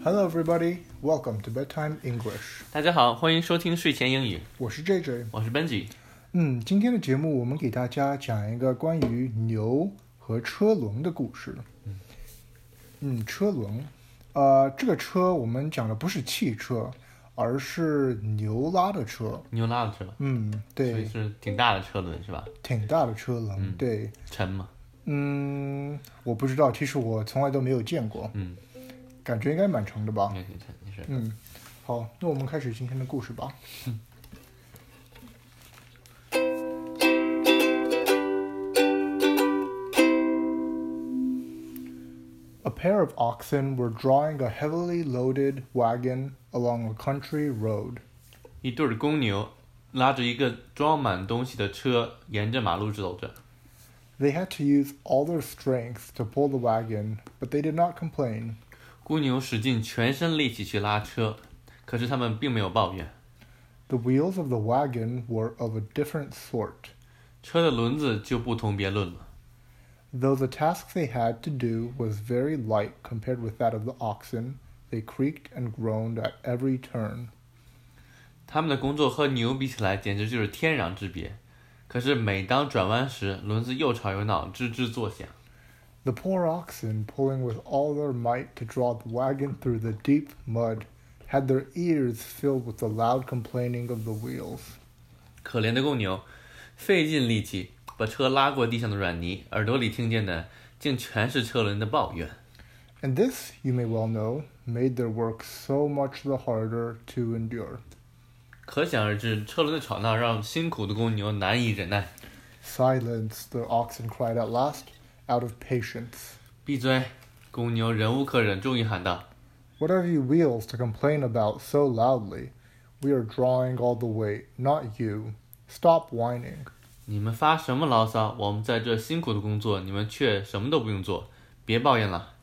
Hello, everybody. Welcome to Bedtime English. 大家好，欢迎收听睡前英语， 我是 JJ。 我是 Benji。 今天的节目我们给大家讲一个关于牛和车轮的故事。车轮，这个车我们讲的不是汽车，而是牛拉的车。 牛拉的车， 对， 所以是挺大的车轮是吧？ 挺大的车轮，对。 沉吗？ 我不知道，其实我从来都没有见过。感觉应该蛮长的吧？ 应该挺沉，你是。 好，那我们开始今天的故事吧。A pair of oxen were drawing a heavily loaded wagon along a country road. 一对公牛拉着一个装满东西的车，沿着马路走着。 They had to use all their strength to pull the wagon, but they did not complain. 公牛使尽全身力气去拉车，可是他们并没有抱怨。 The wheels of the wagon were of a different sort. 车的轮子就不同别论了。 Though the task they had to do was very light compared with that of the oxen, they creaked and groaned at every turn. 他们的工作和牛比起来简直就是天壤之别，可是每当转弯时，轮子又吵又闹，吱吱作响。 The poor oxen, pulling with all their might to draw the wagon through the deep mud, had their ears filled with the loud complaining of the wheels. 可怜的公牛，费尽力气把车拉过地上的软泥，耳朵里听见的竟全是车轮的抱怨。 And this, you may well know, made their work so much the harder to endure. 可想而知，车轮的吵闹让辛苦的公牛难以忍耐。 Silence, the oxen cried at last, out of patience. 闭嘴！公牛忍无可忍，终于喊道 What have you wheels to complain about so loudly? We are drawing all the weight, not you. Stop whining. 你们发什么牢骚？我们在这辛苦的工作，你们却什么都不用做，别抱怨了。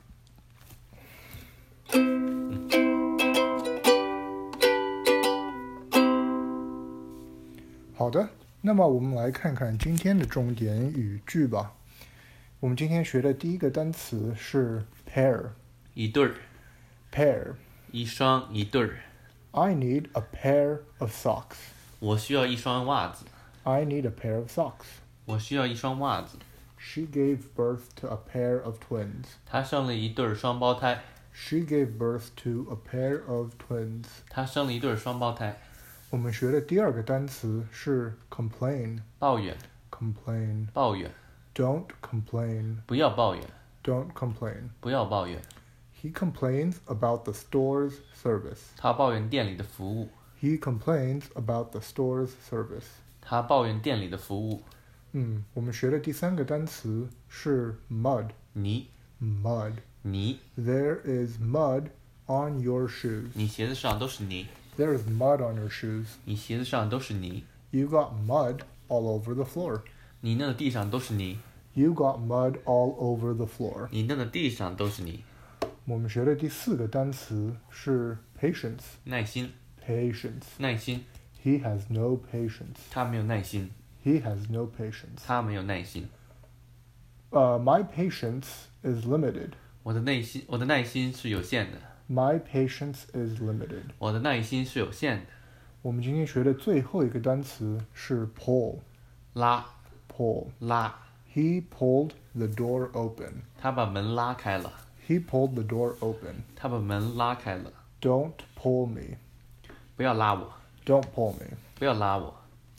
好的，那么我们来看看今天的重点语句吧。我们今天学的第一个单词是 pair。 一对儿。 pair。 一双，一对儿。 I need a pair of socks. 我需要一双袜子。 I need a pair of socks. 我需要一双袜子。 She gave birth to a pair of twins. 她生了一对双胞胎。 She gave birth to a pair of twins. 她生了一对双胞胎。 我们学的第二个单词是 complain. 抱怨。 complain. 抱怨。 Don't complain. 不要抱怨。 Don't complain. 不要抱怨。 He complains about the store's service. 他抱怨店里的服务。 He complains about the store's service. 他抱怨店里的服务。 我们学的第三个单词是 mud. 泥。 Mud. 泥。 There is mud on your shoes. 你鞋子上都是泥。 There is mud on your shoes. 你鞋子上都是泥。 You got mud all over the floor. 你弄的地上都是泥。 You got mud all over the floor. 你弄的地上都是泥。 我们学的第四个单词是 patience. 耐心。 Patience. 耐心。 He has no patience. 他没有耐心。 He has no patience. 他没有耐心。 My patience is limited. 我的耐心是有限的。 My patience is limited. 我的耐心是有限的。 我们今天学的最后一个单词是 pull. 拉。 Pull. 拉。 He pulled the door open. 他把门拉开了。 He pulled the door open. 他把门拉开了。 Don't pull me. 不要拉我。 Don't pull me. 不要拉我。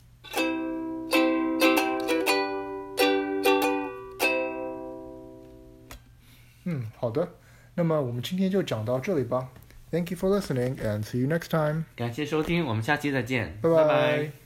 好的，那么我们今天就讲到这里吧。Thank you for listening and see you next time. 感谢收听，我们下期再见， 拜拜。